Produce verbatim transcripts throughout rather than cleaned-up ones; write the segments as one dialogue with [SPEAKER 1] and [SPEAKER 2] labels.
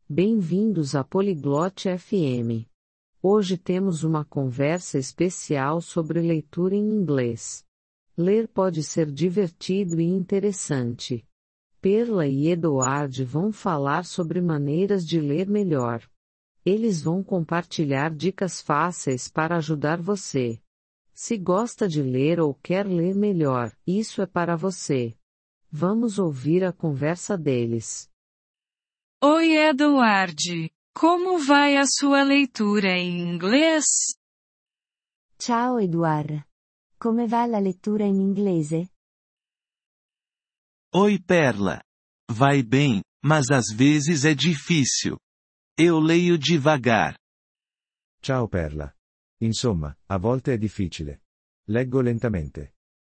[SPEAKER 1] Bem-vindos à Poliglote F M. Hoje temos uma conversa especial sobre leitura em inglês. Ler pode ser divertido e interessante. Perla e Eduard vão falar sobre maneiras de ler melhor. Eles vão compartilhar dicas fáceis para ajudar você. Se gosta de ler ou quer ler melhor, isso é para você. Vamos ouvir a conversa deles.
[SPEAKER 2] Oi, Eduard. Como vai a sua leitura em inglês?
[SPEAKER 3] Ciao Eduard. Come va la lettura in inglese?
[SPEAKER 4] Oi, Perla. Vai bem, mas às vezes é difícil. Eu leio devagar.
[SPEAKER 5] Ciao Perla. Insomma, a volte è difficile. Leggo lentamente.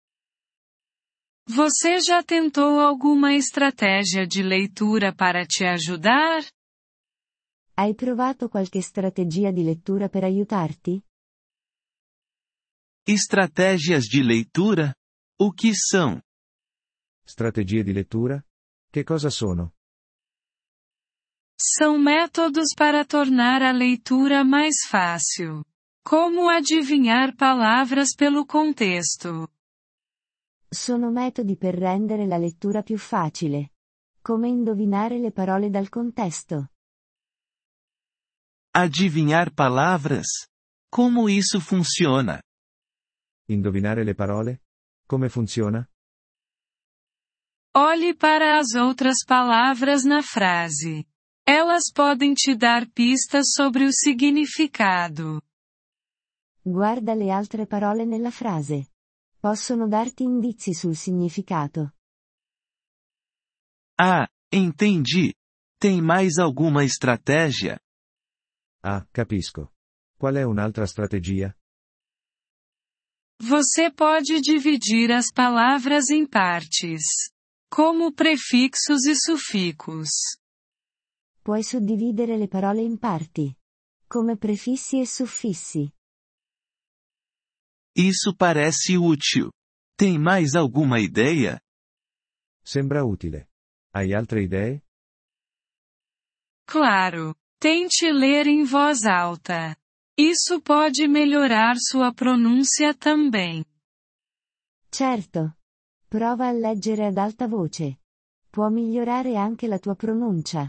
[SPEAKER 2] Você já tentou alguma estratégia de leitura para te ajudar?
[SPEAKER 3] Hai provato qualche strategia di lettura per aiutarti?
[SPEAKER 4] Estratégias de leitura? O que são?
[SPEAKER 5] Strategie di lettura? Che cosa sono?
[SPEAKER 2] São métodos para tornar a leitura mais fácil. Como adivinhar palavras pelo contexto?
[SPEAKER 3] Sono metodi per rendere la lettura più facile. Come indovinare le parole dal contesto?
[SPEAKER 4] Adivinhar palavras? Como isso funciona?
[SPEAKER 5] Indovinare le parole? Come funziona?
[SPEAKER 2] Olhe para as outras palavras na frase. Elas podem te dar pistas sobre o significado.
[SPEAKER 3] Guarda le altre parole nella frase. Possono darti indizi sul significato.
[SPEAKER 4] Ah, entendi. Tem mais alguma estratégia?
[SPEAKER 5] Ah, capisco. Qual è un'altra strategia?
[SPEAKER 2] Você pode dividir as palavras em partes, como prefixos e sufixos.
[SPEAKER 3] Puoi suddividere le parole in parti, come prefissi e suffissi.
[SPEAKER 4] Isso parece útil. Tem mais alguma ideia?
[SPEAKER 5] Sembra utile. Hai altre idee?
[SPEAKER 2] Claro. Tente ler em voz alta. Isso pode melhorar sua pronúncia também.
[SPEAKER 3] Certo. Prova a leggere ad alta voce. Può migliorare anche la tua pronuncia.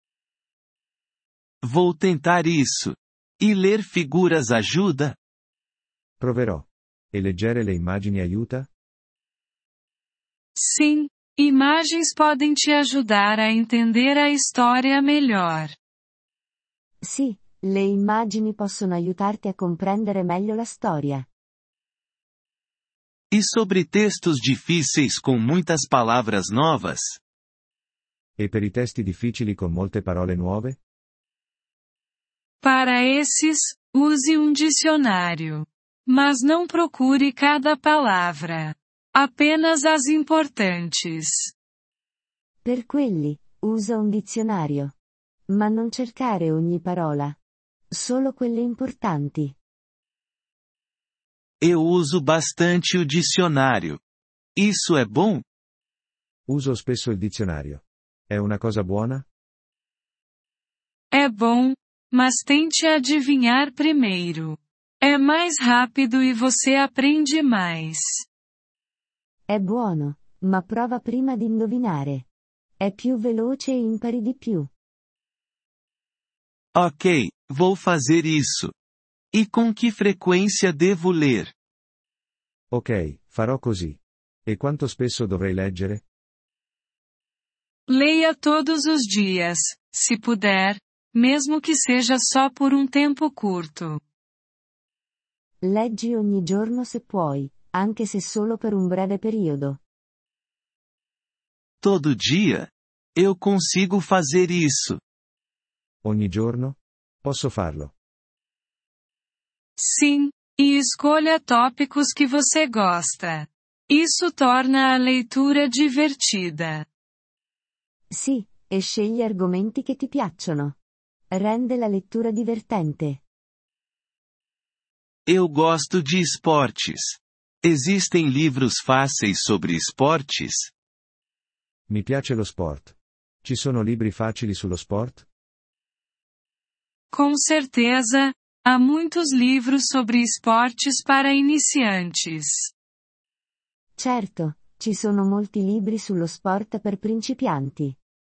[SPEAKER 4] Vou tentar isso. E ler figuras ajuda?
[SPEAKER 5] Proverò. E leggere le immagini aiuta?
[SPEAKER 2] Sim, imagens podem te ajudar a entender a história melhor.
[SPEAKER 3] Sì, le immagini possono aiutarti a comprendere meglio la storia.
[SPEAKER 4] E sobre textos difíceis com muitas palavras novas?
[SPEAKER 5] E per i testi difficili con molte parole nuove?
[SPEAKER 2] Para esses, use um dicionário. Mas não procure cada palavra. Apenas as importantes.
[SPEAKER 3] Per quelli, usa un dizionario. Ma non cercare ogni parola. Solo quelle importanti.
[SPEAKER 4] Eu uso bastante o dicionário. Isso é bom?
[SPEAKER 5] Uso spesso il dizionario. È una cosa buona?
[SPEAKER 2] É bom, mas tente adivinhar primeiro. É mais rápido e você aprende mais.
[SPEAKER 3] È buono, ma prova prima di indovinare. È più veloce e impari di più.
[SPEAKER 4] Ok, vou fazer isso. E com que frequência devo ler?
[SPEAKER 5] Ok, farò così. E quanto spesso dovrei leggere?
[SPEAKER 2] Leia todos os dias, se puder, mesmo que seja só por um tempo curto.
[SPEAKER 3] Leggi ogni giorno se puoi, anche se solo per un breve periodo.
[SPEAKER 4] Todo dia? Eu consigo fazer isso.
[SPEAKER 5] Ogni giorno? Posso farlo.
[SPEAKER 2] Sim, e escolha tópicos que você gosta. Isso torna a leitura divertida.
[SPEAKER 3] Sì, e scegli argomenti che ti piacciono. Rende la lettura divertente.
[SPEAKER 4] Eu gosto de esportes. Existem livros fáceis sobre esportes?
[SPEAKER 5] Mi piace lo sport. Ci sono libri facili sullo sport?
[SPEAKER 2] Com certeza, há muitos livros sobre esportes para iniciantes.
[SPEAKER 3] Certo, ci sono molti libri sullo sport per principianti.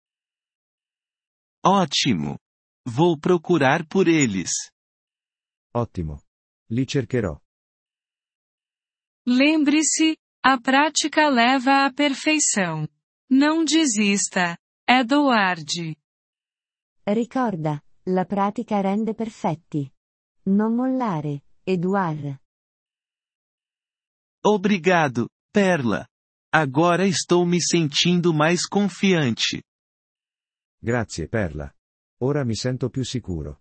[SPEAKER 4] Ótimo! Vou procurar por eles.
[SPEAKER 5] Ottimo. Li cercherò.
[SPEAKER 2] Lembre-se, a prática leva à perfeição. Não desista, Edward.
[SPEAKER 3] Ricorda, la pratica rende perfetti. Non mollare, Edouard.
[SPEAKER 4] Obrigado, Perla. Agora estou me sentindo mais confiante.
[SPEAKER 5] Grazie, Perla. Ora mi sento più sicuro.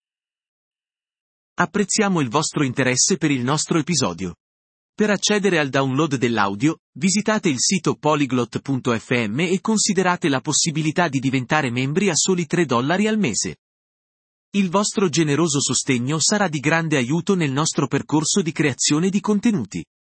[SPEAKER 6] Apprezziamo il vostro interesse per il nostro episodio. Per accedere al download dell'audio, visitate il sito polyglot punto effe emme e considerate la possibilità di diventare membri a soli tre dollari al mese. Il vostro generoso sostegno sarà di grande aiuto nel nostro percorso di creazione di contenuti.